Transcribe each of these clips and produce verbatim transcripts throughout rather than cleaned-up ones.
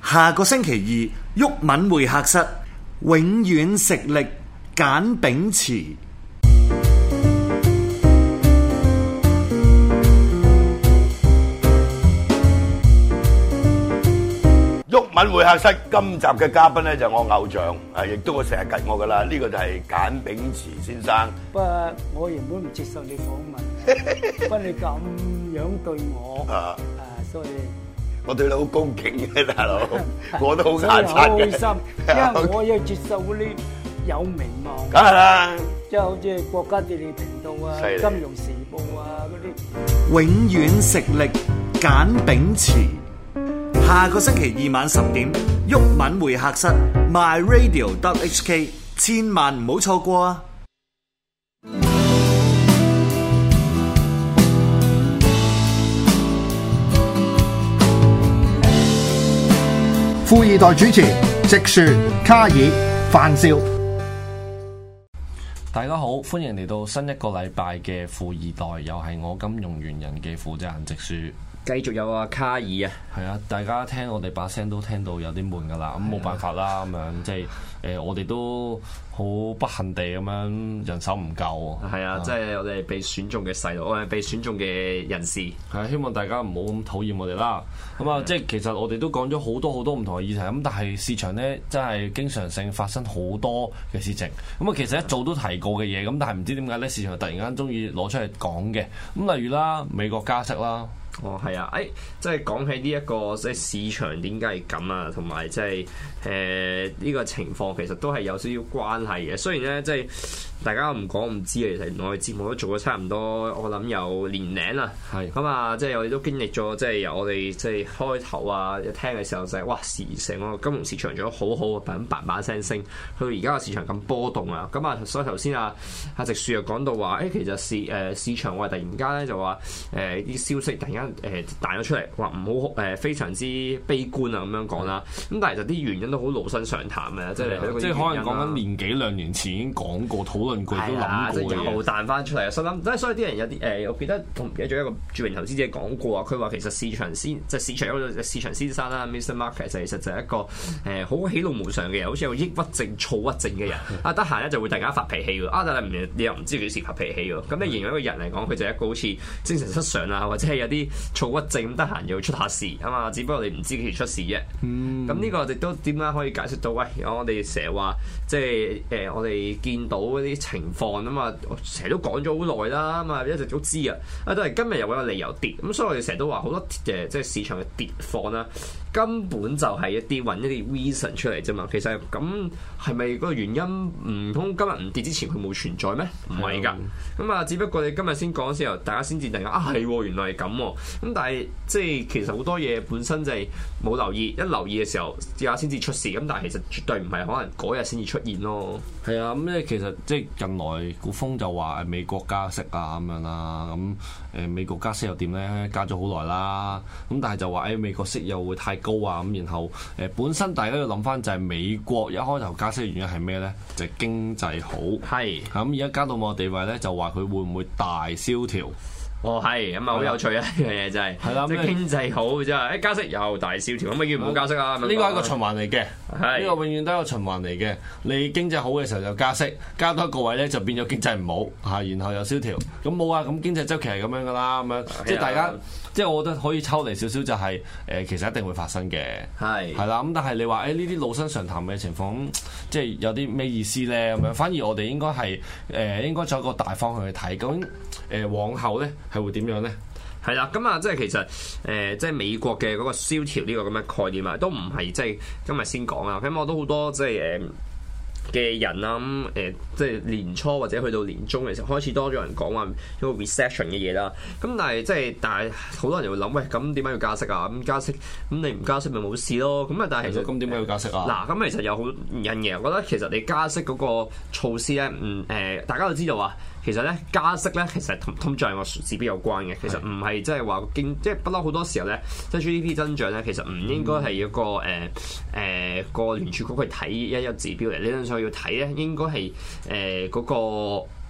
下個星期二，毓民會客室，永遠食力簡炳墀。 毓民會客室今集嘅嘉賓咧就係我偶像，誒亦都我成日及我噶啦，呢、這個就係簡炳墀先生。 不過我原本唔接受你訪問，不過你咁樣對我，啊，啊所以我對你好恭敬嘅大佬，我都好眼擦嘅。 開心，因為我要接受嗰啲有名望， 梗係啦， 即係好似國家地理頻道啊、金融時報啊嗰啲。 永遠食力簡炳墀。下個星期二晚十點，毓民會客室 My Radio dot H K， 千萬唔好錯過啊！ 富二代主持直樹、卡爾、范少。 大家好，歡迎嚟到新一個禮拜嘅富二代，又係我金融元人嘅負責人直樹。 繼續有阿卡爾啊， 係啊，大家聽我哋把聲都聽到有啲悶噶啦，咁冇辦法啦，咁樣即係誒、呃，我哋都好不幸地咁樣人手唔夠。 係啊，即係我哋被選中嘅細路，我哋被選中嘅人士。 係啊，希望大家唔好咁討厭我哋啦。咁啊，即係其實我哋都講咗好多好多唔同嘅議題，咁但係市場咧真係經常性發生好多嘅事情。咁啊，其實一早都提過嘅嘢，咁但係唔知點解咧，市場突然間中意攞出嚟講嘅。咁例如啦，美國加息啦。 哦，係啊，誒、哎，即係講起呢、這、一個即係市場點解係咁啊，同埋即係誒呢個情況其實都係有少少關係嘅。雖然咧，即係大家唔講唔知啊，其實我哋節目都做咗差唔多，我諗有年零啦。係咁啊，即係我哋都經歷咗，即係由我哋即係開頭啊一聽嘅時候就係、是、哇，時成個金融市場做得好好，咁叭叭聲升，去到而家個市場咁波動啊。咁啊，所以頭先啊阿直樹又講到話，誒、哎、其實市誒、呃、市場話突然間咧就話誒啲消息突然間。誒彈咗出嚟，話唔好誒非常之悲觀啊咁樣講啦。咁但係就啲原因都好老生常談嘅，即係即係可能講緊年幾兩年前已經講過、討論過、都諗過即係又彈翻出嚟。所以諗，即係所以啲人有啲誒，我記得同唔記得咗一個著名投資者講過啊。佢話其實市場先即係市場嗰個市場先生啦，Mister Market 其實就係一個誒好喜怒無常嘅人，好似有抑鬱症、躁鬱症嘅人。啊，得閒咧就會突然間發脾氣喎。啊，但係唔你又唔知幾時發脾氣喎。咁你形容一個人嚟講，佢就係一個好似精神失常啊，或者係有啲躁鬱症，得閒又出下事啊嘛，只不過你唔知幾時出事啫。咁呢、嗯、個亦都點解可以解釋到？喂，我哋成日話即係誒、呃，我哋見到嗰啲情況啊嘛，成日都講咗好耐啦，咁啊一直都知啊。啊，都係今日又有個理由跌，咁所以我哋成日都話好多誒，即係市場嘅跌況啦，根本就係一啲揾一啲 reason 出嚟啫嘛。其實咁係咪嗰個原因唔通今日唔跌之前佢冇存在咩？唔係㗎。咁啊，只不過你今日先講嘅時候，大家先至突然間啊係喎，原來係咁喎。咁但係即係其實好多嘢本身就係冇留意，一留意嘅時候，而家先至出事。咁但係其實絕對唔係可能嗰日先至出現咯。 係啊，咁咧其實即係近來股風就話美國加息啊咁樣啦。咁誒美國加息又點咧？加咗好耐啦。咁但係就話誒美國息又會太高啊。咁然後誒本身大家要諗翻就係美國一開頭加息嘅原因係咩咧？就係經濟好。係。咁而家加到某個地位咧，就話佢會唔會大蕭條？ 哦，係咁啊，好有趣啊！呢樣嘢真係，係啦，即係經濟好真係，誒加息又大蕭條，咁咪叫唔好加息啊？呢個係一個循環嚟嘅，呢個永遠都係一個循環嚟嘅。你經濟好嘅時候就加息，加多一個位咧就變咗經濟唔好嚇，然後又蕭條。咁冇啊，咁經濟週期係咁樣噶啦，咁樣即係大家，即係我覺得可以抽離少少就係誒，其實一定會發生嘅，係係啦。咁但係你話誒呢啲老生常談嘅情況，即係有啲咩意思咧？咁樣反而我哋應該係誒應該做一個大方向去睇，究竟誒往後咧。係會點樣咧？ 係啦，咁啊，即係其實誒、呃，即係美國嘅嗰個蕭條呢個咁嘅概念啊，都唔係即係今日先講啊。咁我都好多即係誒嘅人啦，咁、嗯、誒、呃、即係年初或者去到年中嘅時候，開始多咗人講話一個 recession 嘅嘢啦。咁但係即係但係好多人就會諗，喂，咁點解要加息啊？咁加息，咁你唔加息咪冇事咯？咁啊，但係其實咁點解要加息啊？ 嗱，咁其實有好原因嘅。我覺得其實你加息嗰個措施咧，嗯誒、呃，大家都知道啊。其實咧加息咧，其實同通脹個指標有關嘅。其實唔係即係話經，即係不嬲好多時候咧，即係 G D P 增長咧，其實唔應該係一個誒誒個聯儲局去睇一一指標嚟。理論上要睇咧，應該係誒嗰個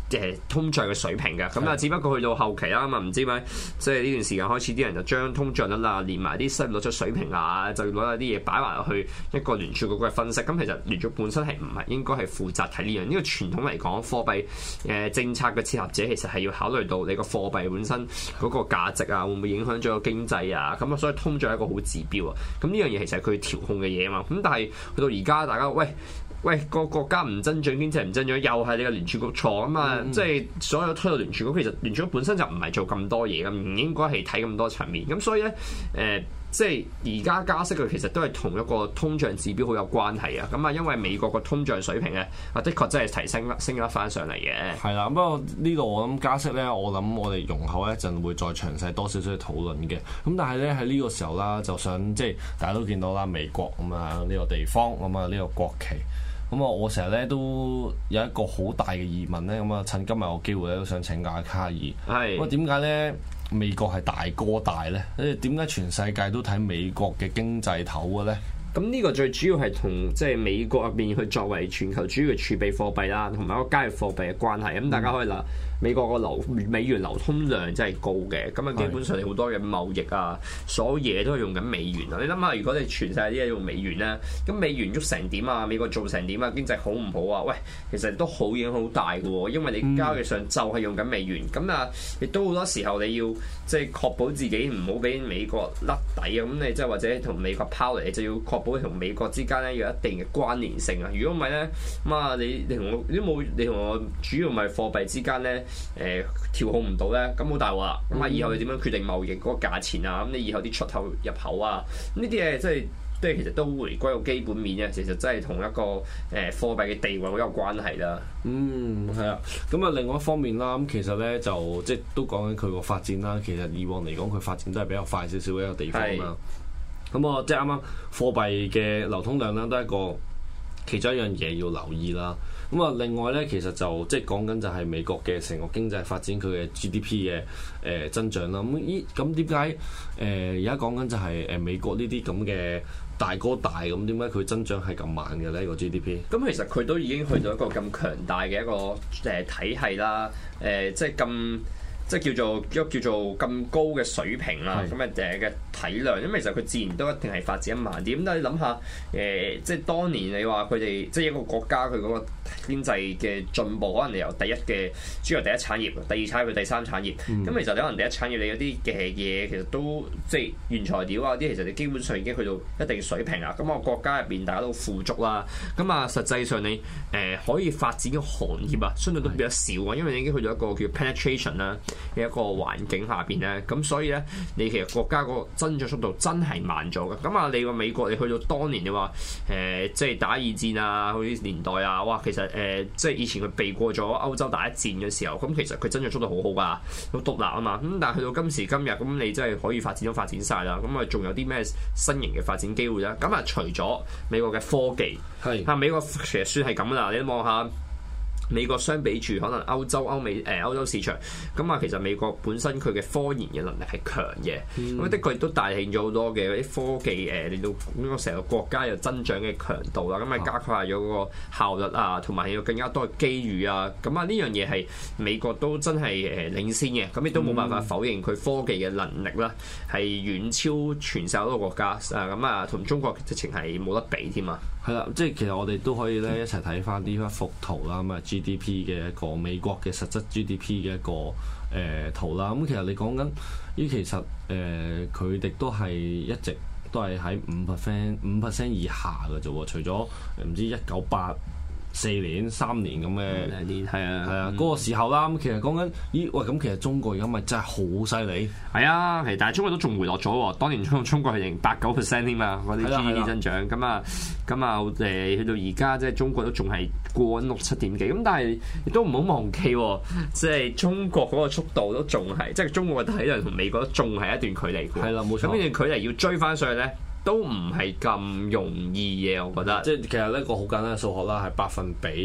誒通脹嘅水平嘅。咁啊，只不過去到後期啦，咁啊唔知咪即係呢段時間開始，啲人就將通脹率啊，連埋啲失業率出水平啊，就攞一啲嘢擺埋落去一個聯儲局嘅分析。咁其實聯儲本身係唔係應該係負責睇呢樣？呢個傳統嚟講，貨幣誒政策嘅設立者其實係要考慮到你個貨幣本身嗰個價值啊，會唔會影響咗個經濟啊？咁啊，所以通脹係一個好指標啊。咁呢樣嘢其實係佢調控嘅嘢啊嘛。咁但係去到而家，大家喂。喂，個國家唔增長，經濟唔增長，又係你個聯儲局錯啊嘛！嗯、即係所有推到聯儲局，其實聯儲局本身就唔係做咁多嘢嘅，唔應該係睇咁多層面。咁所以咧，誒、呃，即係而家加息嘅其實都係同一個通脹指標好有關係啊！咁啊，因為美國個通脹水平咧，啊，的確真係提升升咗翻上嚟嘅。係啦，不過呢度我諗加息咧，我諗我哋容後一陣會再詳細多少少去討論嘅。咁但係咧喺呢個時候啦，就想即係大家都見到啦，美國咁啊呢個地方咁啊呢個國旗。咁啊，我成日咧都有一個好大嘅疑問咧，咁啊趁今日個機會咧都想請教下卡爾。係。咁啊點解咧美國係大哥大咧？誒點解全世界都睇美國嘅經濟頭嘅咧？ 咁呢個最主要係同即係美國入邊去作為全球主要嘅儲備貨幣啦，同埋一個交易貨幣嘅關係。咁大家可以嗱。美國個流美元流通量真係高嘅，咁啊基本上你好多嘅貿易啊，所有嘢都係用緊美元啊！你諗下，如果你全世界啲嘢用美元咧，咁美元喐成點啊？美國做成點啊？經濟好唔好啊？喂，其實都好影響好大嘅喎，因為你交易上就係用緊美元，咁啊亦都好多時候你要即係確保自己唔好俾美國甩底啊！咁你即係或者同美國拋離，你就要確保同美國之間咧有一定嘅關聯性啊！如果唔係咧，咁啊你你同我都冇你同我主要咪貨幣之間咧。誒、呃、調控唔到咧，咁好大鑊啦！咁啊，以後你點樣決定貿易嗰個價錢啊？咁你以後啲出口入口啊，呢啲嘢即係即係其實都回歸個基本面嘅，其實真係同一個誒、呃、貨幣嘅地位好有關係啦。 嗯，係啊。咁啊，另外一方面啦，咁其實咧就即係都講緊佢個發展啦。其實以往嚟講，佢發展都係比較快少少嘅一個地方啦。咁啊，即係啱啱貨幣嘅流通量啦，都係一個其中一樣嘢要留意啦。咁啊，另外咧，其實就即係講緊就係美國嘅成個經濟發展，佢嘅 G D P 嘅誒、呃、增長啦。咁依咁點解誒而家講緊就係誒美國呢啲咁嘅大哥大咁，點解佢增長係咁慢嘅咧？呢個 G D P？ 咁其實佢都已經去到一個咁強大嘅一個誒體系啦。誒、呃，即係咁。即係叫做一個叫做咁高嘅水平啦，咁嘅誒嘅體量，因為其實佢自然都一定係發展得慢啲。咁但係你諗下，誒、呃，即係當年你話佢哋即係一個國家佢嗰個經濟嘅進步，可能你由第一嘅主要第一產業、第二產業、第三產業。咁、嗯、其實你可能第一產業你有啲嘅嘢其實都即係原材料啊啲，其實你基本上已經去到一定水平啦。咁啊國家入邊大家都富足啦。咁啊實際上你誒、呃、可以發展嘅行業啊，相對都比較少啊，因為你已經去到一個叫 penetration 啦。嘅一個環境下邊咧，咁所以咧，你其實國家個增長速度真係慢咗嘅。咁啊，你話美國你去到當年你話誒、呃，即係打二戰啊嗰啲年代啊，哇，其實誒、呃，即係以前佢避過咗歐洲打一戰嘅時候，咁其實佢增長速度好好㗎，好獨立啊嘛。咁但係去到今時今日，咁你真係可以發展都發展晒啦。咁啊，仲有啲咩新型嘅發展機會咧？咁啊，除咗美國嘅科技，係啊，美國其實算係咁啦。你望下。美國相比住可能歐洲、歐美誒、呃、歐洲市場，咁啊其實美國本身佢嘅科研嘅能力係強嘅，咁、嗯、的確亦都帶領咗好多嘅啲科技誒，令到呢個成個國家有增長嘅強度啦，咁啊加快咗嗰個效率啊，同埋有更加多嘅機遇啊，咁啊呢樣嘢係美國都真係誒領先嘅，咁亦都冇辦法否認佢科技嘅能力啦，係遠超全世界好多國家啊，咁啊同中國直情係冇得比添啊！ 係啦，即係其實我哋都可以咧一齊睇翻呢一幅圖啦，咁啊 G D P 嘅一個美國嘅實質 G D P 嘅一個誒、呃、圖啦。咁其實你講緊呢，其實誒佢哋都係一直都係喺五 percent 五 percent 以下嘅啫喎。除咗唔知一九八四年、三年咁嘅年，係啊，係啊，嗰個時候啦。咁其實講緊，咦喂，咁其實中國而家咪真係好犀利。係啊，其實但係中國都仲回落咗喎。當年中中國係零八九 percent 添嘛，嗰啲 G D P 增長。咁啊，咁啊誒，去到而家即係中國都仲係過緊六七點幾。咁但係亦都唔好忘記，即係中國嗰個速度都仲係，即係中國嘅體量同美國都仲係一段距離。 係啦，冇錯。 咁呢段距離要追翻上去咧，都唔係咁容易嘅，我覺得。 即係其實呢個好簡單嘅數學啦，係百分比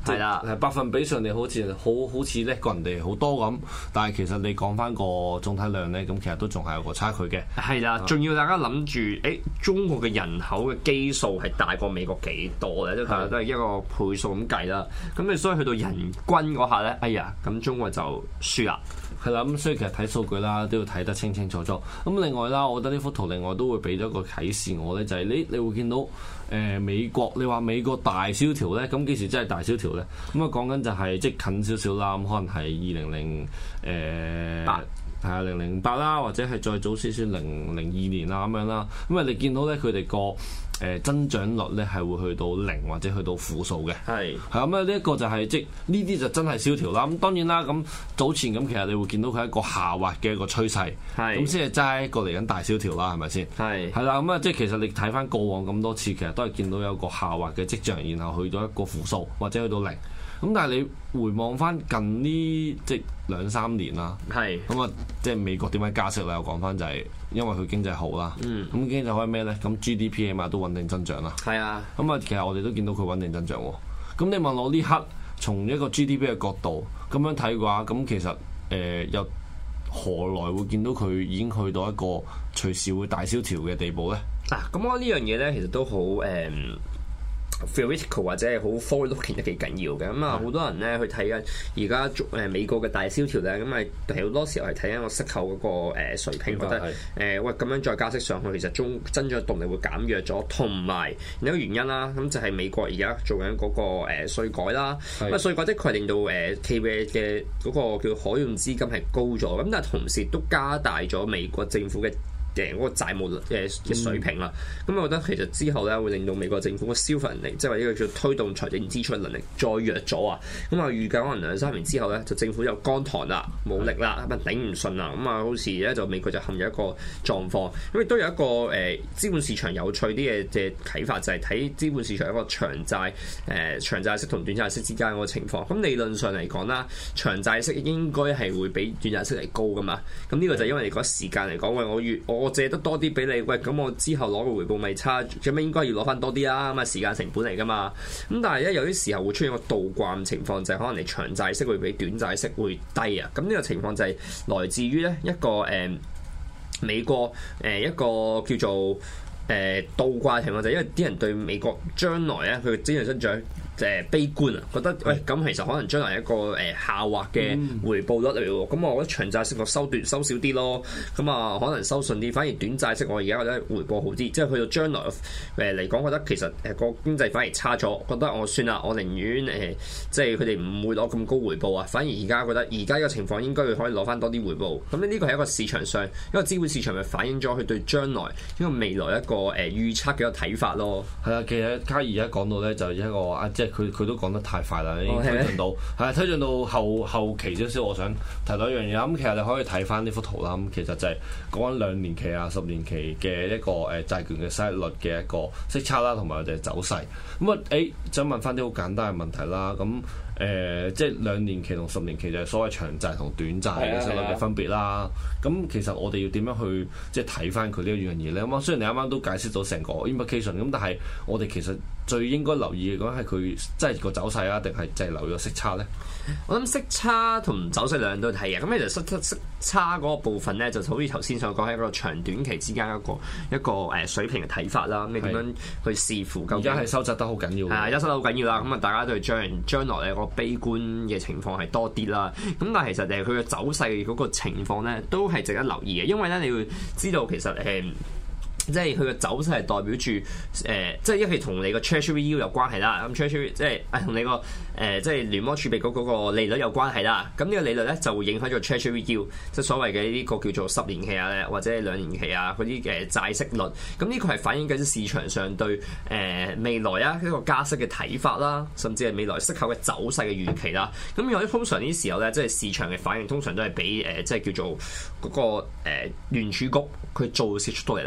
係啦， 係百分比上你好似好好似叻過人哋好多咁，但係其實你講翻個總體量咧，咁其實都仲係有個差距嘅。 係啦，仲要大家諗住，誒中國嘅人口嘅基數係大過美國幾多咧？都係都係一個倍數咁計啦。咁你所以去到人均嗰下咧，哎呀，咁中國就輸啦。 係啦，咁所以其實睇數據啦，都要睇得清清楚楚。咁另外啦，我覺得呢幅圖另外都會俾咗個啟示我咧，就係、是、你你會見到誒、呃、美國，你話美國大蕭條咧，咁幾時真係大蕭條咧？咁啊講緊就係即係近少少啦，咁可能係二零零誒八。係啊，零零八啦，或者係再早少少零零二年啦咁樣啦。咁啊，你見到咧佢哋個誒增長率咧係會去到零或者去到負數嘅。係係咁啊，呢一個就係即呢啲就真係蕭條啦。咁當然啦，咁早前咁其實你會見到佢係一個下滑嘅一個趨勢。係咁先係齋一個嚟緊大蕭條啦，係咪先？係係啦，咁啊即係其實你睇翻過往咁多次，其實都係見到有個下滑嘅跡象，然後去到一個負數或者去到零。咁但係你回望翻近呢即兩三年啦，係咁啊，即係美國點解加息啦？我講翻就係因為佢經濟好啦，嗯，咁經濟好係咩咧？咁 G D P 起碼都穩定增長啦，係啊，咁啊，其實我哋都見到佢穩定增長喎。咁你問我呢刻從一個 G D P 嘅角度咁樣睇嘅話，咁其實誒、呃、又何來會見到佢已經去到一個隨時會大蕭條嘅地步咧？ 嗱、啊，咁我呢樣嘢咧，其實都好誒。嗯 theoretical 或者係好 forward-looking 得幾緊要嘅，咁啊好多人咧去睇緊而家誒美國嘅大蕭條咧，咁啊好多時候係睇緊個息口嗰個誒水平，覺得誒、呃、喂咁樣再加息上去，其實中增長動力會減弱咗，同埋有一個原因啦，咁就係美國而家做緊嗰個誒稅改啦，咁啊稅改的確係令到誒企業嘅嗰個叫可用資金係高咗，咁但係同時都加大咗美國政府嘅嘅嗰個債務嘅嘅水平啦，咁、嗯、我覺得其實之後咧會令到美國政府嘅消費能力，即係話呢個叫推動財政支出嘅能力再弱咗啊！咁啊預計可能兩三年之後咧，就政府就乾塘啦、冇力啦，咁啊頂唔順啦，咁啊好似咧就美國就陷入一個狀況。咁亦都有一個誒、呃、資本市場有趣啲嘅嘅啟發，就係、是、睇資本市場一個長債誒、呃、長債息同短債息之間嗰個情況。咁理論上嚟講啦，長債息應該係會比短債息嚟高噶嘛。咁呢個就因為你嗰時間嚟講，喂我越我我借得多啲俾你，喂咁我之後攞個回報咪差，咁應該要攞翻多啲啦，咁啊時間成本嚟噶嘛。咁但係咧有啲時候會出現個倒掛情況，就係、是、可能你長債息會比短債息會低啊。咁呢個情況就係來自於咧一個誒、呃、美國誒、呃、一個叫做誒、呃、倒掛情況，就係因為啲人對美國將來咧佢嘅經濟增長誒悲觀啊，覺得喂咁其實可能將來一個誒下滑嘅回報率嚟喎，咁、嗯、我覺得長債息我收短收少啲咯，咁啊可能收順啲，反而短債息我而家覺得回報好啲，即係去到將來誒嚟講，覺得其實誒個經濟反而差咗，覺得我算啦，我寧願誒、呃、即係佢哋唔會攞咁高回報啊，反而而家覺得而家呢個情況應該可以攞翻多啲回報，咁呢個係一個市場上一個資本市場咪反映咗佢對將來呢個未來一個誒預測嘅一個睇法咯。 係啊，其實卡爾而家講到咧就係一個啊，即係佢佢都講得太快啦，已經推進到係、哦、推進到後後期少少。我想提到一樣嘢，咁其實你可以睇翻呢幅圖啦。咁其實就係講緊兩年期啊、十年期嘅一個誒債券嘅息率嘅一個息差啦，同埋佢哋走勢。咁啊誒，想問翻啲好簡單嘅問題啦。咁誒、呃，即係兩年期同十年期就係所謂長債同短債嘅息率嘅分別啦。咁其實我哋要點樣去即係睇翻佢呢一樣嘢咧？咁啊，雖然你啱啱都解釋到成個 implication，咁但係我哋其實最應該留意嘅講係佢即係個走勢啊，定係就係留意個息差咧？ 我諗息差同走勢兩樣都係嘅。咁其實息息差嗰個部分咧，就好似頭先所講，係一個長短期之間一個一個誒水平嘅睇法啦。咁你點樣去視乎究竟？ 而家係收窄得好緊要。係啊，而家收得好緊要啦。咁啊，大家對將將來咧個悲觀嘅情況係多啲啦。咁但係其實誒佢嘅走勢嗰個情況咧，都係值得留意嘅。因為咧，你會知道其實誒。呃即係佢嘅走勢係代表住誒、呃，即係一係同你個 Treasury Yield 有關係啦。咁 Treasury 即係誒同你個誒、呃、即係聯邦儲備局嗰個利率有關係啦。咁呢個利率咧就會影響咗 Treasury Yield，即係所謂嘅呢個叫做十年期啊，或者係兩年期啊嗰啲誒債息率。咁呢個係反映緊市場上對誒、呃、未來啊一個加息嘅睇法啦，甚至係未來息口嘅走勢嘅預期啦。咁有啲通常呢啲時候咧，即係市場嘅反應通常都係比誒、呃、即係叫做嗰、那個誒聯儲局佢做事速度嚟得快嘅。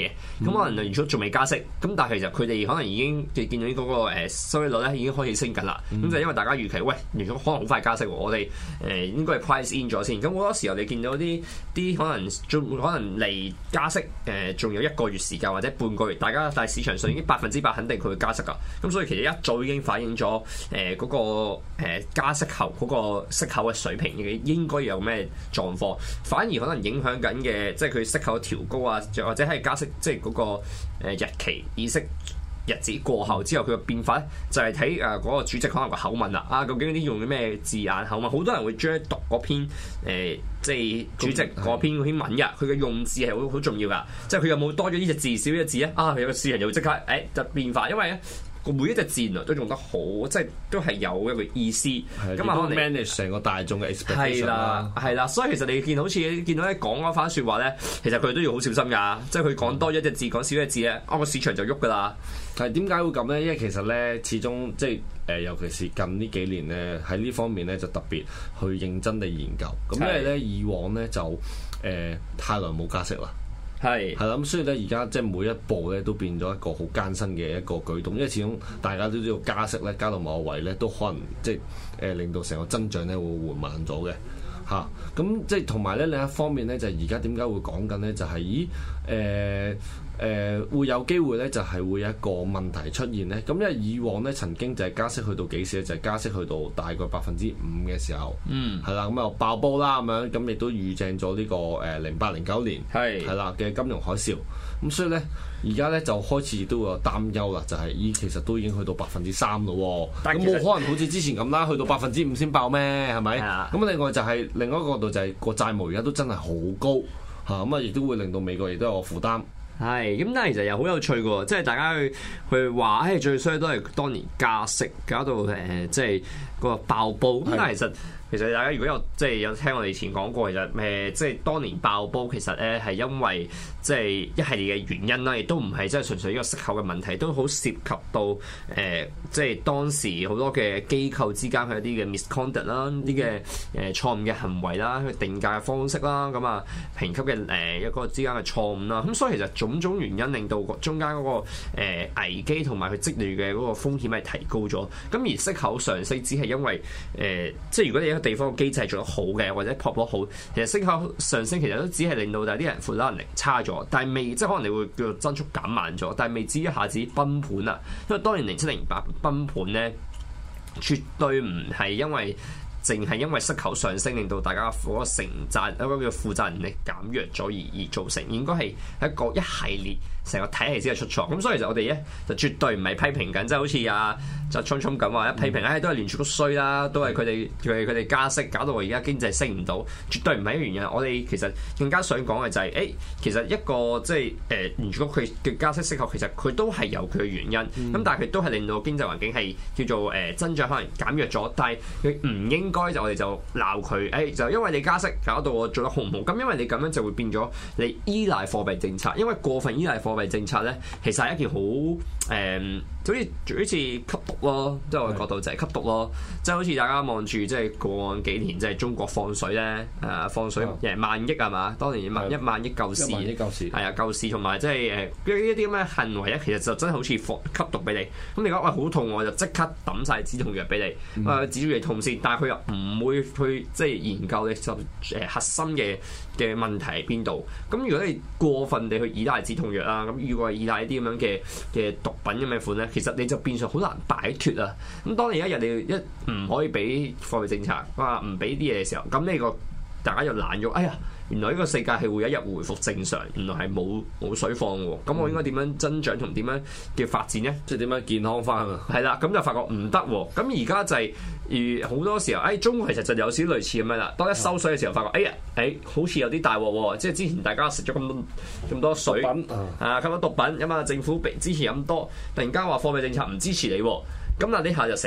嘅，咁、嗯、可能如果仲未加息，咁但係其實佢哋可能已經見到嗰個誒收益率咧已經開始升緊啦。咁、嗯、就因為大家預期，喂，如果可能好快加息，我哋誒應該係 price in 咗先。咁好多時候你見到啲啲可能仲可能離加息誒仲有一個月時間或者半個月，大家但係市場上已經百分之百肯定佢會加息噶。咁所以其實一早已經反映咗誒嗰個誒加息後嗰個息口嘅水平嘅應該有咩狀況，反而可能影響緊嘅即係佢息口調高啊，或者係加息即係嗰個誒日期議息日子過後之後佢嘅變化咧，就係睇誒嗰個主席可能個口吻啦。啊，究竟啲用啲咩字眼口吻？好多人會將讀嗰篇誒、呃、即係主席嗰篇嗰篇文嘅，佢嘅用字係好好重要噶。即係佢有冇多咗呢隻字少呢隻字咧？啊，有個市場就會即刻誒就變化，因為咧。每一隻字都用得好，即係都係有一個意思。咁啊，可能 manage 成個大眾嘅 expectation 係啦，係啦。所以其實你見好似見到咧講嗰番説話咧，其實佢哋都要好小心㗎。即係佢講多一隻字，講少一隻字咧，啊個市場就喐㗎啦。 係點解會咁咧？因為其實咧，始終即係誒、呃，尤其是近呢幾年咧，喺呢方面咧就特別去認真地研究。咁因為咧以往咧就誒、呃、太耐冇加息啦。係係啦，咁所以咧，而家即係每一步咧都變咗一個好艱辛嘅一個舉動，因為始終大家都知道加息咧，加到某個位咧都可能即係誒、呃、令到成個增長咧會緩慢咗嘅嚇。咁、啊、即係同埋咧另一方面咧，就係而家點解會講緊咧？就係、是、咦誒。呃誒、呃、會有機會咧，就係、是、會有一個問題出現咧。咁因為以往咧曾經就係加息去到幾時咧？就係、是、加息去到大概百分之五嘅時候，嗯，係啦，咁啊爆煲啦咁樣，咁亦都預正咗呢、這個誒零八零九年係係啦嘅金融海嘯。咁所以咧，而家咧就開始都有擔憂啦，就係、是、咦，其實都已經去到百分之三咯。咁冇可能好似之前咁啦，去到百分之五先爆咩？係咪？咁的另外就係、是、另外一個角度就係、是、個債務而家都真係好高嚇，咁啊亦都會令到美國亦都有個負擔。 係，咁但係其實又好有趣嘅喎，即係大家去去話，誒最衰都係當年加息搞到誒、呃，即係個爆煲。咁的但係其實其實大家如果有即係有聽我哋以前講過，其實誒、呃、即係當年爆煲其實咧係因為即係一系列嘅原因啦，亦都唔係即係純粹呢個息口嘅問題，都好涉及到誒、呃、即係當時好多嘅機構之間佢一啲嘅 misconduct 啦，啲嘅誒錯誤嘅行為啦，佢定價嘅方式啦，咁啊評級嘅誒一個之間嘅錯誤啦，咁所以其實種種原因令到中間嗰個誒危機同埋佢積累嘅嗰個風險係提高咗，咁而息口上升只係因為誒、呃、即係如果你一個地方嘅機制做得好嘅，或者撲得好，其實息口上升其實都只係令到大啲人負擔能力差咗，但係未即係可能你會叫做增速減慢咗，但係未至於一下子崩盤啊，因為當年零七零八崩盤咧，絕對唔係因為。淨係因為息口上升，令到大家嗰個承債一個叫負責能力減弱咗而而造成，應該係一個一系列成個體系先係出錯。咁所以其實我哋咧就絕對唔係批評緊，即係好似阿就聰聰咁話一批評，唉、哎、都係聯儲局衰啦，都係佢哋佢佢哋加息搞到我而家經濟升唔到，絕對唔係一個原因。我哋其實更加想講嘅就係、是，誒、欸、其實一個即係誒聯儲局佢嘅加息息口，其實佢都係有佢嘅原因。咁、嗯、但係佢都係令到經濟環境係叫做誒、呃、增長可能減弱咗，但係佢唔應該就我哋就鬧佢，誒、欸、就因為你加息搞到我做得好唔好？咁因為你咁樣就會變咗你依賴貨幣政策，因為過分依賴貨幣政策咧，其實係一件好誒。嗯好似好似吸毒咯，即係我嘅角度就係吸毒咯，即係好似大家望住即係過往幾年即係中國放水咧，誒、呃、放水誒萬億係嘛？當年萬一萬億救市，係啊救市同埋即係誒一啲咁嘅行為咧，其實就真係好似放吸毒俾你。咁你講喂好痛，我就即刻抌晒止痛藥俾你，誒、呃、止住你痛先。但係佢又唔會去即係研究你就誒核心嘅嘅問題喺邊度。咁如果你過分地去依賴止痛藥啦，咁如果係依賴一啲咁樣嘅嘅毒品咁嘅款咧，其實你就變相好難擺脫啊！咁當你一日你一唔可以俾貨幣政策，哇唔俾啲嘢嘅時候，咁你個大家又懶咗，哎呀！原來呢個世界係會有一日回復正常，原來係冇冇水放喎。咁我應該點樣增長同點樣嘅發展咧？ 即係點樣健康翻啊？ 係啦，咁就發覺唔得喎。咁而家就係、是，而好多時候，誒、哎、中國其實就有少少類似咁樣啦。當一收水嘅時候，發覺，哎呀，誒、哎、好似有啲大鑊喎。即係之前大家食咗咁多咁多水，品啊咁多毒品，咁啊政府之前咁多，突然間話貨幣政策唔支持你，咁嗱呢下就死啦。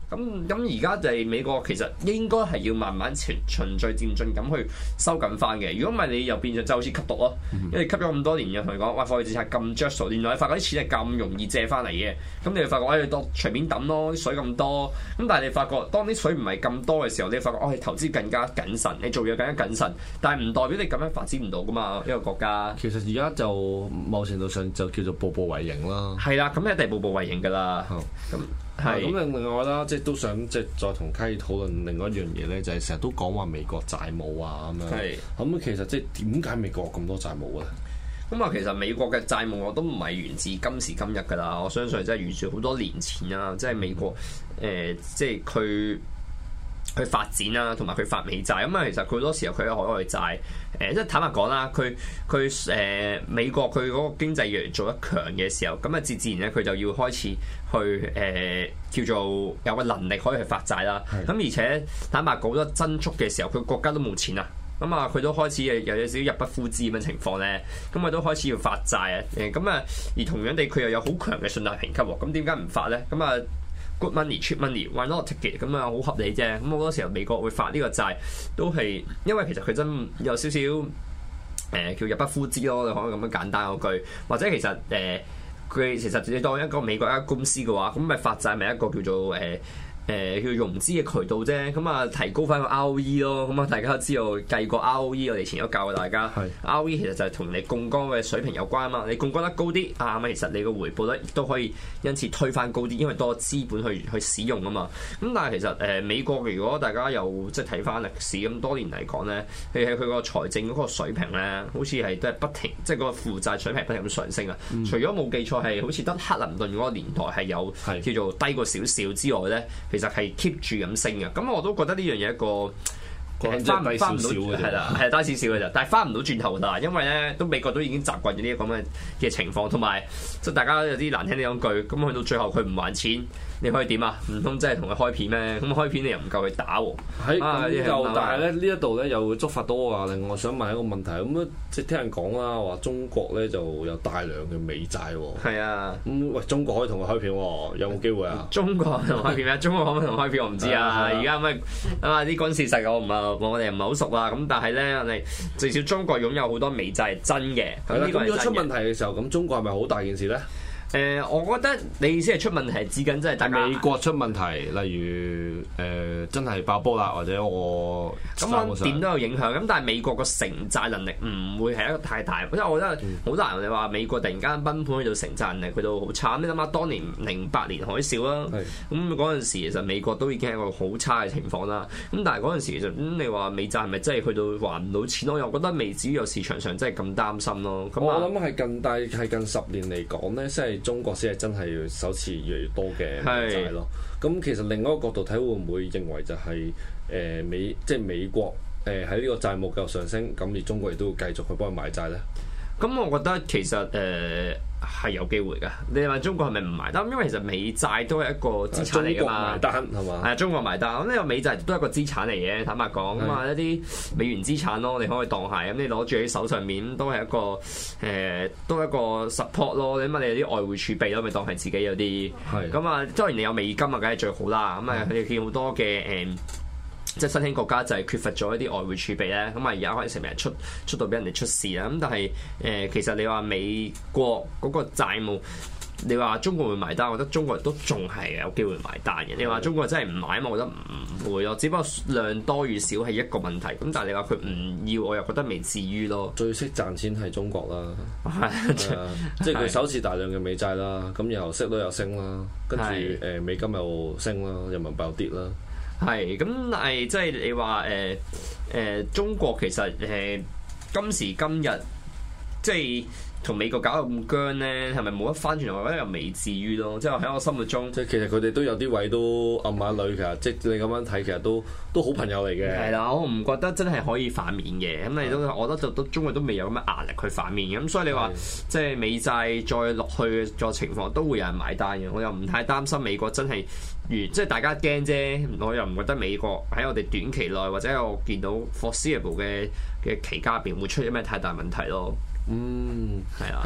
咁咁而家就係美國其實應該係要慢慢循循序漸進咁去收緊翻嘅。如果唔係你又變咗就好似吸毒咯，因為吸咗咁多年又同你講，哇貨幣政策咁着數，原來你發覺啲錢係咁容易借翻嚟嘅，咁你就發覺誒當隨便抌咯，啲水咁多，咁但係你發覺當啲水唔係咁多嘅時候，你發覺哦你投資更加謹慎，你做嘢更加謹慎，但係唔代表你咁樣發展唔到噶嘛，一個國家。 其實而家就某程度上就叫做步步為營啦。 係啦，咁一定步步為營㗎啦。咁係咁另外啦，即係都想即係再同卡爾討論另外一樣嘢咧，就係成日都講話美國債務啊咁樣。係咁其實即係點解美國咁多債務咧？ 咁啊，其實美國嘅債務我都唔係源自今時今日㗎啦，我相信即係源自好多年前啦，即係美國誒、呃，即係佢。去發展啦，同埋佢發美債咁啊。其實佢好多時候佢喺海外債，誒、呃，即係坦白講啦，佢佢誒美國佢嗰個經濟越嚟做得強嘅時候，咁啊自自然咧佢就要開始去誒、呃、叫做有個能力可以去發債啦。咁而且坦白講，好多增速嘅時候，佢國家都冇錢啊，咁啊佢都開始誒有有少少入不敷支咁嘅情況咧，咁啊都開始要發債啊。誒咁啊，而同樣地佢又有好強嘅信貸評級喎，咁點解唔發咧？咁啊？Good money, cheap money, why not take it？ 咁啊，好合理啫。咁好多時候美國會發呢個債，都係因為其實佢真有少少誒、呃、叫入不敷支咯。你可以咁樣簡單嗰句，或者其實誒佢、呃、其實你當一個美國一間公司嘅話，咁咪發債咪一個叫做誒。呃誒、呃、叫融資嘅渠道啫，咁啊提高翻個 R O E 咯，咁啊大家都知道計個 R O E， 我哋前都教過大家是，R O E 其實就係同你槓桿嘅水平有關啊嘛，你槓桿得高啲啊，咁其實你個回報率亦都可以因此推翻高啲，因為多資本去去使用啊嘛。咁但係其實誒、呃、美國如果大家有即係睇翻歷史咁多年嚟講咧，佢喺佢個財政嗰個水平咧，好似係都係不停，即係個負債水平不停咁上升啊。嗯、除咗冇記錯係好似得克林頓嗰個年代係有叫做低過少少之外咧。其實係 keep 住咁升嘅，咁我都覺得呢樣嘢一個翻翻唔到，係啦，係低少少嘅啫，但係翻唔到轉頭啦，因為咧都美國都已經習慣咗呢個咁嘅嘅情況，同埋即係大家有啲難聽啲講句，咁去到最後佢唔還錢，你可以點啊？唔通真係同佢開片咩？咁開片你又唔夠佢打喎。喺咁就，但係咧呢一度咧又會觸發到我話，另外我想問一個問題，咁啊即係聽人講啦，話中國咧就有大量嘅美債喎。係啊。咁喂，中國可以同佢開片喎，有冇機會啊？中國同開片咩？中國可唔可以同開片我唔知啊。而家咁啊啲軍事實我唔係我哋唔係好熟啦。咁但係咧，我哋至少中國擁有好多美債係真嘅。係啦。咁如果出問題嘅時候，咁中國係咪好大件事咧？誒、呃，我覺得你意思係出問題係指緊即係大家美國出問題，例如誒、呃、真係爆煲啦，或者我咁我點都有影響。咁但係美國個承債能力唔會係一個太大，因為我覺得好難。你話美國突然間崩盤去到承債能力去到好差，你諗下當年零八年海嘯啦，咁嗰陣時其實美國都已經係一個好差嘅情況啦。咁但係嗰陣時其實咁、嗯、你話美債係咪真係去到還唔到錢？我又覺得未至於有市場上真係咁擔心咯。咁我諗係近大係近十年嚟講咧，即係。中國先係真係首次越嚟越多嘅美債咯。咁其實另外一個角度睇，會唔會認為就係、是、誒、呃、美即係美國誒喺呢個債務繼續上升，咁而中國亦都會繼續去幫佢買債咧？咁我覺得其實誒係、呃、有機會㗎。你話中國係咪唔埋單？因為其實美債都係一個資產嚟㗎嘛。中國埋單係嘛？係啊，中國埋單。咁呢個美債都係一個資產嚟嘅。坦白講，咁啊的一啲美元資產咯，你可以當係咁，你攞住喺手上面都係一個誒、呃，都係一個 support 咯。你問你有啲外匯儲備咯，咪當係自己有啲。係的。咁啊，當然你有美金啊，梗係最好啦。咁啊，佢哋見好多嘅誒。呃即係新興國家就係缺乏咗一啲外匯儲備咧，咁啊而家可以成日出出到俾人哋出事啦。咁但係誒、呃，其實你話美國嗰個債務，你話中國會埋單，我覺得中國都仲係有機會埋單嘅。你話中國真係唔買，我覺得唔會咯。只不過量多與少係一個問題。咁但係你話佢唔要，我又覺得未至於咯。最識賺錢係中國啦，即係佢手持大量嘅美債啦，咁然後息率又升啦，跟住誒美金又升啦，人民幣又跌啦。係，咁但係即係你話誒誒中國其實誒、呃、今時今日即係同美國搞到咁僵咧，係咪冇得翻轉頭？我覺得又未至於咯。即係喺我心目中，即係其實佢哋都有啲位都暗下女，其實即係你咁樣睇，其實都都好朋友嚟嘅。係啦，我唔覺得真係可以反面嘅。咁你都，我覺得就都中國都未有咁嘅壓力去反面嘅。咁所以你話即係美債再落去個情況，都會有人買單嘅。我又唔太擔心美國真係。即係大家驚啫，我又唔覺得美國喺我哋短期內或者我見到 foreseeable 嘅嘅期間入邊會出啲咩太大問題咯。嗯，係啊。係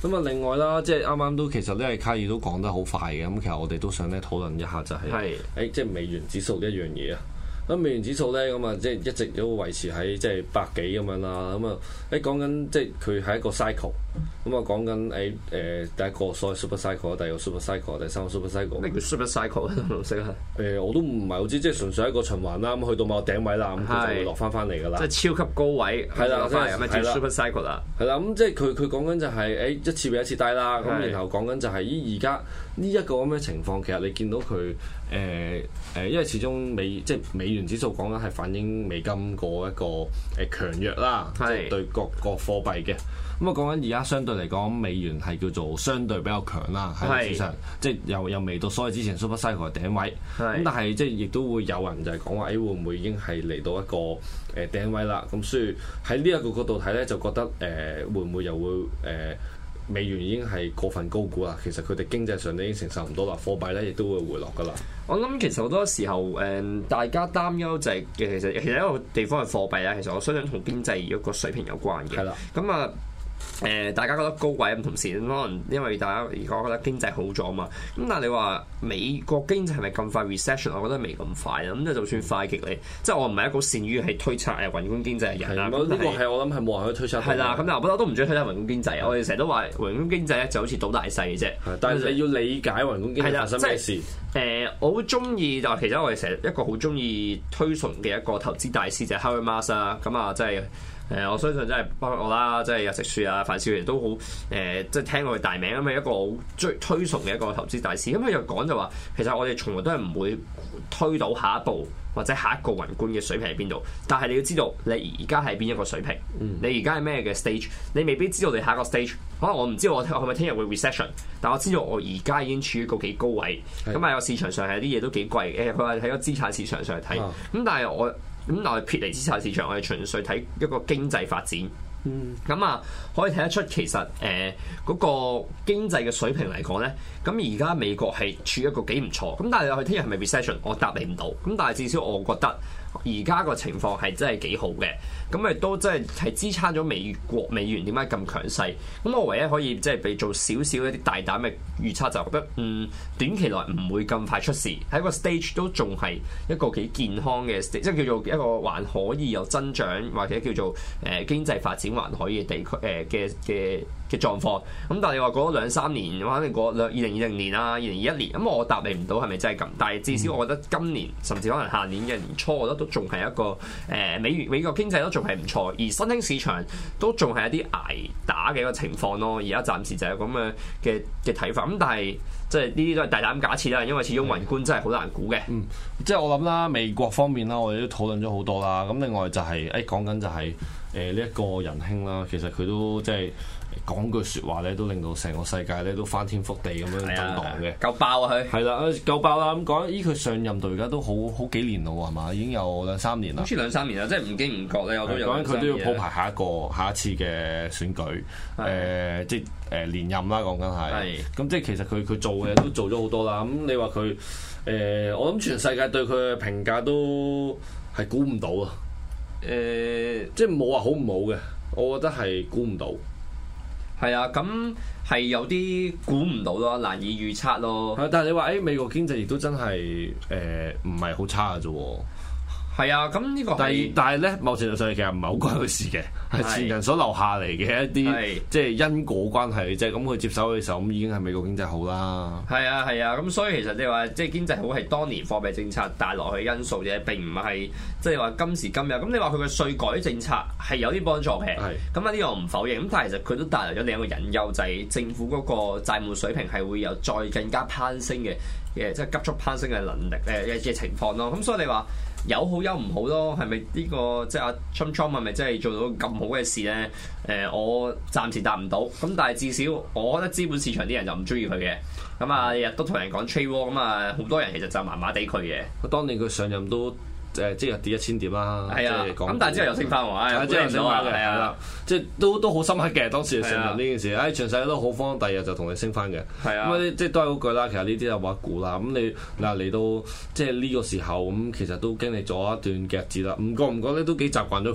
咁啊，另外啦，即係啱啱都其實咧，卡爾都講得好快嘅。咁其實我哋都想咧討論一下就係、是，誒係即係美元指數一樣嘢啊。咁美元指數咧，咁啊即係一直都維持喺即係百幾咁樣啦。咁啊，誒講緊即係佢係一個 cycle。咁啊講緊誒誒第一個所謂 super cycle，第二個 super cycle，第三個 super cycle。 咩叫 super cycle 咧？唔識啊？ 誒我都唔係好知，即係純粹一個循環啦。咁去到某個頂位啦，咁佢就會落翻翻嚟㗎啦。 即係超級高位， 係啦，即係咁啊叫 super cycle 啦。 係啦，咁即係佢佢講緊就係誒一次比一次低啦。咁然後講緊就係依而家呢一個咁嘅情況，其實你見到佢誒誒，因為始終美即係美元指數講緊係反映美金個一個誒強弱啦，即係對各個貨幣嘅。咁啊講緊而家相對嚟講，美元係叫做相對比較強啦，喺歷史上，即係又又未到所謂之前 super cycle 嘅頂位。咁但係即係亦都會有人就係講話，誒會唔會已經係嚟到一個誒頂位啦？咁所以喺呢一個角度睇咧，就覺得誒、呃、會唔會又會誒、呃、美元已經係過分高估啦？其實佢哋經濟上都已經承受唔到啦，貨幣咧亦都會回落噶啦。 我諗其實好多時候誒、呃，大家擔憂就係、是、其實其實一個地方嘅貨幣咧，其實我相信同經濟一個水平有關嘅。係啦，咁啊。誒、呃，大家覺得高位咁，同時可能因為大家而家覺得經濟好咗嘛，咁但係你話美國經濟係咪咁快 recession？ 我覺得未咁快啦。咁即係就算快極你，即係我唔係一個善於係推測誒宏觀經濟嘅人啦。呢個係我諗係冇人可以推測。係啦，咁但係我都唔中意推測宏觀經濟。我哋成日都話宏觀經濟咧就好似賭大細嘅啫。但係你要理解宏觀經濟發生咩事。誒、呃，我好中意就其實我哋成日一個好中意推崇嘅一個投資大師就係 Howard Marks 啦。咁啊，即係。誒、呃，我相信真係包括我啦，即係有食樹啊、范少爺都好誒、呃，即係聽過佢大名咁嘅一個好追推崇嘅一個投資大師。咁佢又講就話，其實我哋從來都係唔會推到下一步或者下一個宏觀嘅水平喺邊度。但係你要知道，你而家係邊一個水平？嗯、你而家係咩嘅 stage？你未必知道你下一個 stage。可能我唔知道我係咪聽日會 recession，但我知道我而家已經處於個幾高位。咁啊，個市場上係啲嘢都幾貴。誒，佢話喺個資產市場上睇。咁、啊、但係我。咁但係撇離資產市場，我哋純粹睇一個經濟發展。嗯，咁啊，可以睇得出其實誒嗰、呃那個經濟嘅水平嚟講咧，咁而家美國係處於一個幾唔錯。咁但係佢聽日係咪 recession？ 我答你唔到。咁但係至少我覺得而家個情況係真係幾好嘅。咁亦都真係係支撐咗美國美元點解咁強勢。咁我唯一可以即係俾做少少一啲大膽嘅預測，就覺得嗯短期內唔會咁快出事，喺個 stage 都仲係一個幾健康嘅 stage，即係叫做一個還可以有增長或者叫做誒、呃、經濟發展還可以嘅地區誒嘅嘅嘅狀況。咁但係你話過咗兩三年，可能過兩二零二零年啊、二零二一年，咁我答你唔到係咪真係咁？但係至少我覺得今年甚至可能下年嘅年初，我覺得都仲係一個誒、呃、美元美國經濟都仲係唔錯，而新興市場都仲係一啲捱打嘅一個情況咯。而家暫時就係咁嘅嘅嘅睇法。咁但係即係呢啲都係大膽假設啦，因為始終宏觀真係好難估嘅。嗯， 即係我諗啦，美國方面啦，我哋都討論咗好多啦。咁另外就係誒講緊就係誒呢一個仁兄啦，其實佢都即係講句説話咧，都令到成個世界咧都翻天覆地咁樣震盪嘅。 夠爆啊佢！ 係啦，夠爆啦！咁講，依佢上任到而家都好好幾年咯喎，係嘛？已經有兩三年啦。 好似兩三年啦，即係唔經唔覺咧，我都有。 講緊佢都要鋪排下一個下一次嘅選舉，誒、呃、即係誒連任啦。講緊係。咁即係其實佢佢做嘅都做咗好多啦。咁你話佢誒，我諗全世界對佢嘅評價都係估唔到啊！誒、呃，即係冇話好唔好嘅，我覺得係估唔到。 係啊，咁係有啲估唔到咯，難以預測咯。 但係你話誒、欸、美國經濟亦都真係誒唔係好差嘅啫喎。 係啊，咁呢個但係但係咧，某程度上其實唔係好關佢事嘅，係前人所留下嚟嘅一啲即係因果關係嘅啫。咁佢接手嘅時候，咁已經係美國經濟好啦。 係啊係啊，咁所以其實你話即係經濟好係當年貨幣政策帶落去嘅因素啫，並唔係即係話今時今日。咁你話佢嘅稅改政策係有啲幫助嘅，咁啊呢個我唔否認。咁但係其實佢都帶來咗另一個隱憂，就係、是、政府嗰個債務水平係會有再更加攀升嘅嘅即係急速攀升嘅能力誒嘅情況咯。咁所以你話有好有唔好咯，係咪呢個即係阿 Trump Trump 係咪真係做到咁好嘅事咧？誒、呃，我暫時答唔到。咁但係至少我覺得資本市場啲人就唔中意佢嘅。咁啊，日日都同人講 trade war，咁啊，好多人其實就麻麻地佢嘅。 當年佢上任都誒即係跌一千點啦。係啊，咁但係之後又升翻喎。係之後升翻嘅，係啊， 即係都都好深刻嘅當時上任呢件事。誒，全世界都好慌，第二日就同你升翻嘅。係啊，咁即係都係嗰句啦。其實呢啲就話估啦。咁你嗱嚟到即係呢個時候咁，其實都經歷咗一段嘅日子啦。唔覺唔覺咧，都幾習慣咗佢啦。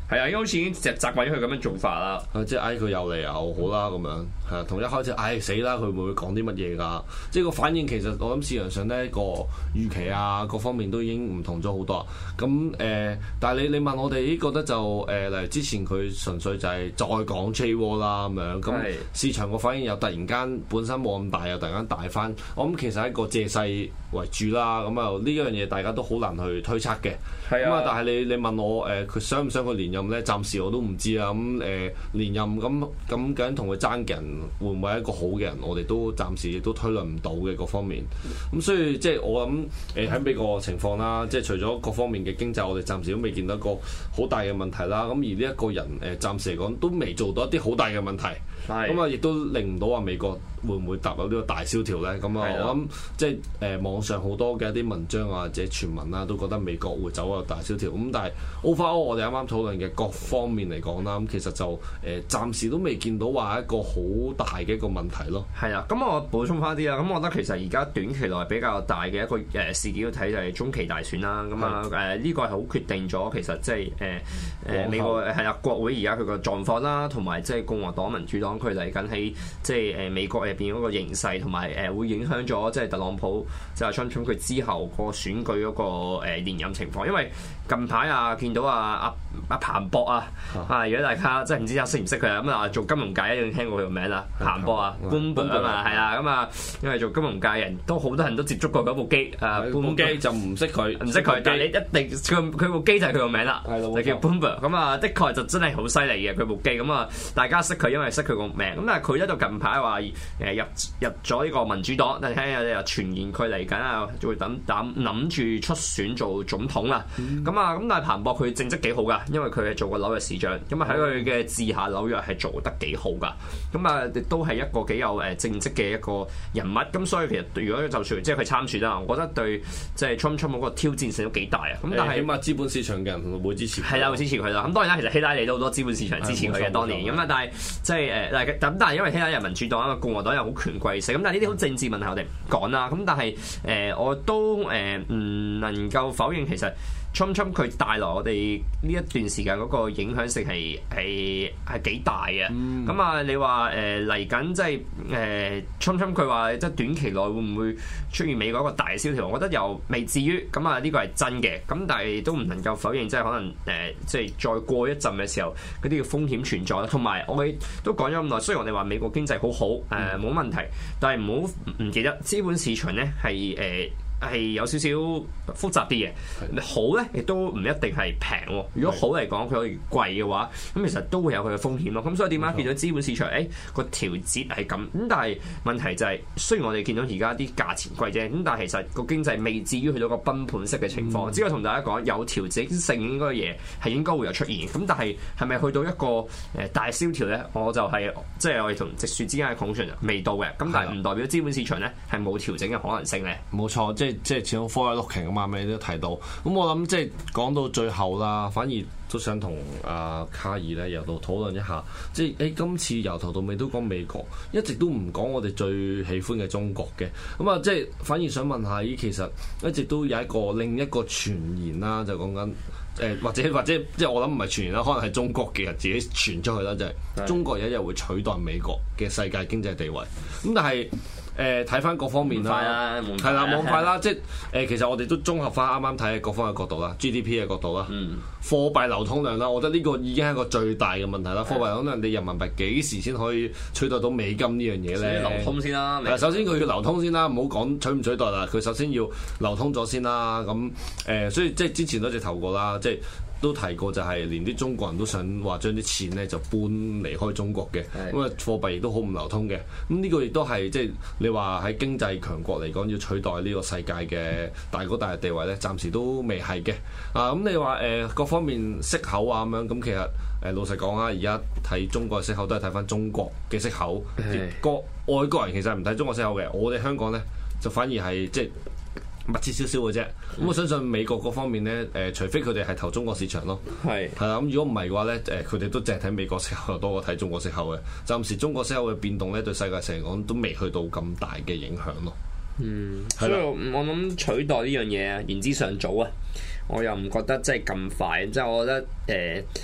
係啊，因為好似已經習習慣咗佢咁樣做法啦。 即係唉佢又嚟又好啦咁樣，係啊，同一開始唉死啦，佢會唔會講啲乜嘢㗎？即係個反應其實我諗市場上呢個預期啊各方面都已經唔同咗好多。咁誒、呃，但係你你問我哋覺得就誒、呃，例如之前佢純粹就係再講 J War 啦咁樣，咁市場個反應又突然間本身冇咁大，又突然間大翻。我諗其實係一個借勢為主啦。咁啊呢樣嘢大家都好難去推測嘅。係啊，但係你你問我誒，佢、呃、想唔想佢連任咧？暫時我都唔知啊。咁、嗯、誒、呃、連任咁咁究竟同佢爭嘅人會唔會係一個好嘅人？我哋都暫時亦都推論唔到嘅各方面。咁、嗯、所以即係我諗誒喺美國情況啦，即係除咗各方面嘅經濟，我哋暫時都未見到一個好大嘅問題啦。咁而呢一個人誒、呃、暫時嚟講都未做到一啲好大嘅問題。咁啊，亦都令唔到話美國會唔會踏入呢個大蕭條咧？咁啊，我諗即係誒、呃、網上好多嘅一啲文章啊，或者傳聞啊，都覺得美國會走入大蕭條。咁但係 overall 我哋啱啱討論嘅各方面嚟講啦，咁其實就誒、呃、暫時都未見到話一個好大嘅一個問題咯。 係啊，咁我補充翻啲啦。咁我覺得其實而家短期內比較大嘅一個誒事件要睇就係中期大選啦。咁啊誒呢個係好決定咗其實即係誒誒美國係啊國會而家佢個狀況啦，同埋即係共和黨民主黨。佢嚟緊喺即係誒美國入邊嗰個形勢，同埋誒會影響咗即係特朗普即係川普佢之後個選舉嗰個誒連任情況。因為近排啊見到啊阿阿彭博啊啊，如果大家即係唔知啊識唔識佢啊咁啊做金融界一定聽過佢個名啦，彭博啊 Bloomberg 啊嘛係啊咁啊，因為做金融界人都好多人都接觸過嗰部機啊，部機就唔識佢唔識佢，但係你一定佢佢部機就係佢個名啦，就叫 Bloomberg。咁啊的確就真係好犀利嘅佢部機。咁啊大家識佢因為識佢個名。咁但係佢咧就近排話誒入入咗呢個民主黨，但係有啲傳言佢嚟緊啊，就會等等諗住出選做總統啦。咁啊咁但係彭博佢政績幾好噶，因為佢係做過紐約市長，咁啊喺佢嘅治下紐約係做得幾好噶。咁啊亦都係一個幾有誒政績嘅一個人物。咁所以其實如果就算即係佢參選啦，我覺得對即係 Trump Trump 嗰個挑戰性都幾大啊。咁但係起碼資本市場嘅人會支持佢， 係啦會支持佢啦。咁當然啦，其實希拉里都好多資本市場支持佢嘅當年。咁啊但係即係誒咁但係因為希拉里係民主黨啊嘛，共和黨又好權貴性。咁但係呢啲好政治問題我哋唔講啦。咁但係誒、呃、我都誒唔、呃、能夠否認其實。Trump Trump 佢帶來我哋呢一段時間嗰個影響性係係係幾大嘅。咁啊、嗯，你話誒嚟緊即係誒 Trump Trump 佢話即係短期內會唔會出現美國一個大蕭條？我覺得又未至於。咁啊，呢個係真嘅。咁但係都唔能夠否認，即係可能誒、呃、即係再過一陣嘅時候，嗰啲嘅風險存在啦。同埋我哋都講咗咁耐，雖然我哋話美國經濟好好誒冇問題，但係唔好唔記得資本市場咧係誒。係有少少複雜啲嘅，的好咧亦都唔一定係平喎。如果好嚟講，佢可以貴嘅話，咁其實都會有佢嘅風險咯。咁所以點解見到資本市場誒個調節係咁？咁但係問題就係、是，雖然我哋見到而家啲價錢貴啫，咁但係其實個經濟未至於去到個崩盤式嘅情況。嗯、只係同大家講，有調整性應該嘅嘢係應該會有出現。咁但係係咪去到一個誒大蕭條咧？我就係即係我哋同直樹之間嘅 conclusion 未到嘅。咁但係唔代表資本市場咧係冇調整嘅可能性咧。 冇錯，即係。即係始終 forward-looking 啊嘛，你都提到。咁我諗即係講到最後啦，反而都想同阿卡爾咧由度討論一下。即係誒今次由頭到尾都講美國，一直都唔講我哋最喜歡嘅中國嘅。咁啊，即係反而想問下，咦，其實一直都有一個另一個傳言啦，就講緊誒或者或者即係我諗唔係傳言啦，可能係中國嘅人自己傳出去啦，就係、是、中國有一日會取代美國嘅世界經濟地位。咁但係。誒睇翻各方面啦，係啦，冇咁快啦，即係誒其實我哋都綜合翻啱啱睇嘅各方嘅角度啦 ，G D P 嘅角度啦，嗯、貨幣流通量啦，我覺得呢個已經係一個最大嘅問題啦。貨幣流通量，你人民幣幾時先可以取代到美金呢樣嘢咧？ 流通先啦， 首先佢要流通先啦，唔好講取唔取代啦，佢首先要流通咗先啦。咁誒、呃，所以即係之前都直頭過啦，即係。都提過就係連啲中國人都想話將啲錢咧就搬離開中國嘅，咁啊的貨幣亦都好唔流通嘅。咁呢個亦都係即係你話喺經濟強國嚟講要取代呢個世界嘅大哥大嘅地位咧，暫時都未係嘅。啊咁你話誒、呃、各方面息口啊咁樣，咁其實誒、呃、老實講啊，而家睇中國嘅息口都係睇翻中國嘅息口，個的外國人其實唔睇中國息口嘅，我哋香港咧就反而係即係。密切少少嘅啫，咁、嗯、我相信美國嗰方面咧，誒、呃，除非佢哋係投中國市場咯，係係啦，咁如果唔係嘅話咧，誒、呃，佢哋都淨係睇美國息口多過睇中國息口嘅。暫時中國息口嘅變動咧，對世界成嚟講都未去到咁大嘅影響咯。 嗯，所以我諗取代呢樣嘢啊，言之尚早啊，我又唔覺得即係咁快，即係我覺得誒。呃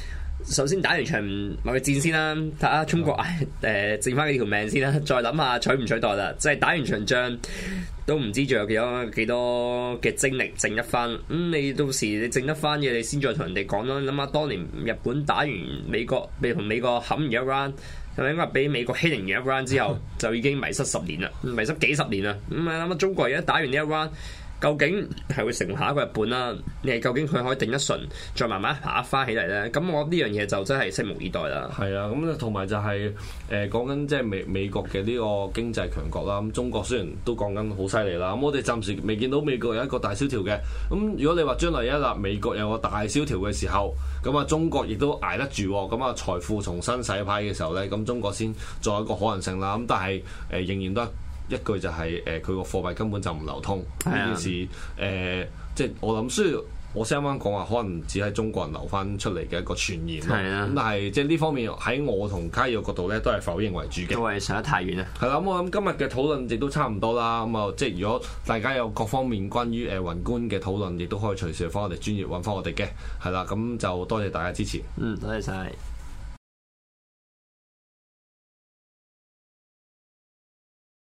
首先打完場貿易戰先啦，睇下中國誒、呃、剩翻幾條命先啦，再諗下取唔取代啦。即係打完場仗都唔知仲有幾多幾多嘅精力剩一翻。咁、嗯、你到時你剩得翻嘅，你先再同人哋講咯。諗下當年日本打完美國，被同美國冚完一 round，係咪應該俾美國欺凌完一 round 之後，就已經迷失十年啦，迷失幾十年啦。咁啊諗下中國而家打完呢一 round。究竟係會成為下一個日本啦？你係究竟佢可以定一順，再慢慢爬翻起嚟咧？咁我覺得呢樣嘢就真係拭目以待啦。 係啊，咁同埋就係誒講緊即係美美國嘅呢個經濟強國啦。咁中國雖然都講緊好犀利啦，咁我哋暫時未見到美國有一個大蕭條嘅。咁如果你話將來一日美國有個大蕭條嘅時候，咁啊中國亦都捱得住，咁啊財富重新洗牌嘅時候咧，咁中國先作一個可能性啦。咁但係誒、呃、仍然都係。一句就係誒佢個貨幣根本就唔流通呢件事誒、呃，即係我諗，雖然我先啱啱講話，可能只係中國人流翻出嚟嘅一個傳言咯。咁的但係即係呢方面喺我同卡爾嘅角度咧，都係否認為主嘅。 都係上得太遠啦。係啦，咁我諗今日嘅討論亦都差唔多啦。咁啊，即係如果大家有各方面關於誒宏觀嘅討論，亦都可以隨時翻我哋專業揾翻我哋嘅。係啦，咁就多謝大家支持。 嗯，多謝晒。